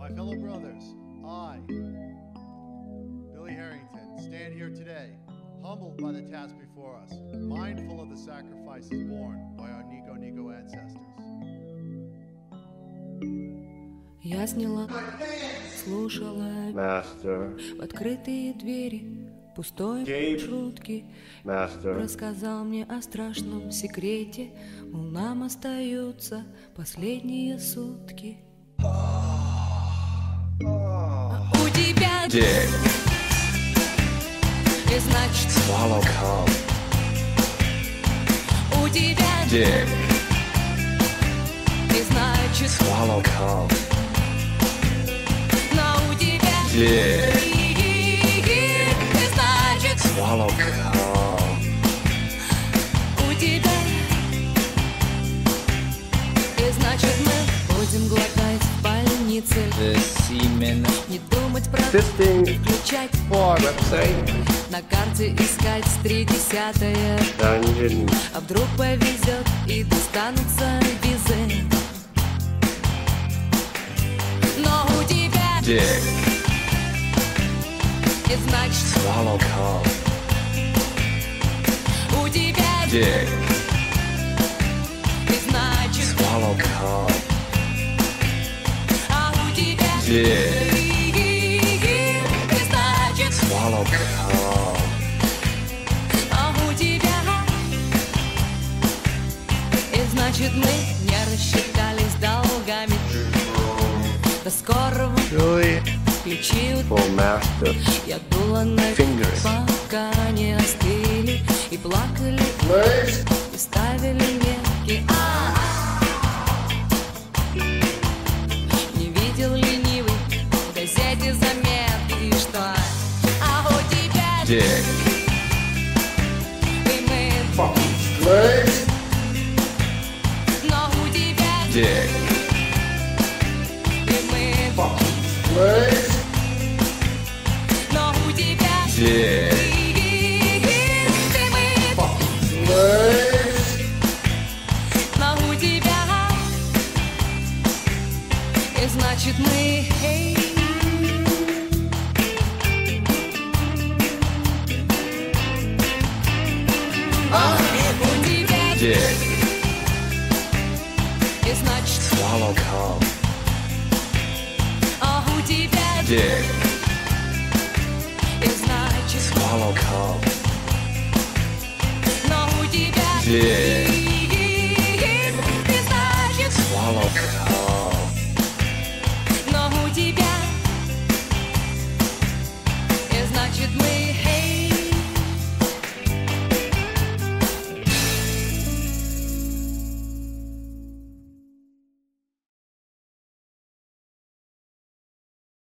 My fellow brothers, I, Billy Harrington, stand here today, humbled by the task before us, mindful of the sacrifices borne by our Nico ancestors. Я сняла, слушала Master, в открытые двери пустой Gabe. шутки. Master, Рассказал мне о страшном секрете, мол, нам остаются последние сутки. У тебя Dig, и значит Swallow Cum, у тебя Dig, и значит Swallow Cum, но у тебя Dig, и значит Swallow Cum, у тебя и значит мы будем глотать в больнице, The semen не думать про Fisting включать for website, на карте искать 30-е. Dungeon, А вдруг повезет и достанутся визы. Но у тебя Dig, и значит Swallow Cum, у тебя Dig, и значит Swallow Cum, а у тебя Dig, и значит Swallow Cum, а у тебя и значит мы не рассчитались долгами. До скорого Billy, включил. for Master, Я дула на Fingers. пока не остыли и плакали, и ставили метки. Не видел ленивый в газете заметки, что а у тебя Dig, и мы, но у тебя Dig, и мы, но у тебя Dig, и мы, но у тебя и значит мы. У тебя Dig, и значит, Swallow Cum, а у тебя Dig, и значит, Swallow Cum, но у тебя Dig, и значит, Swallow Cum, но у тебя и значит мы.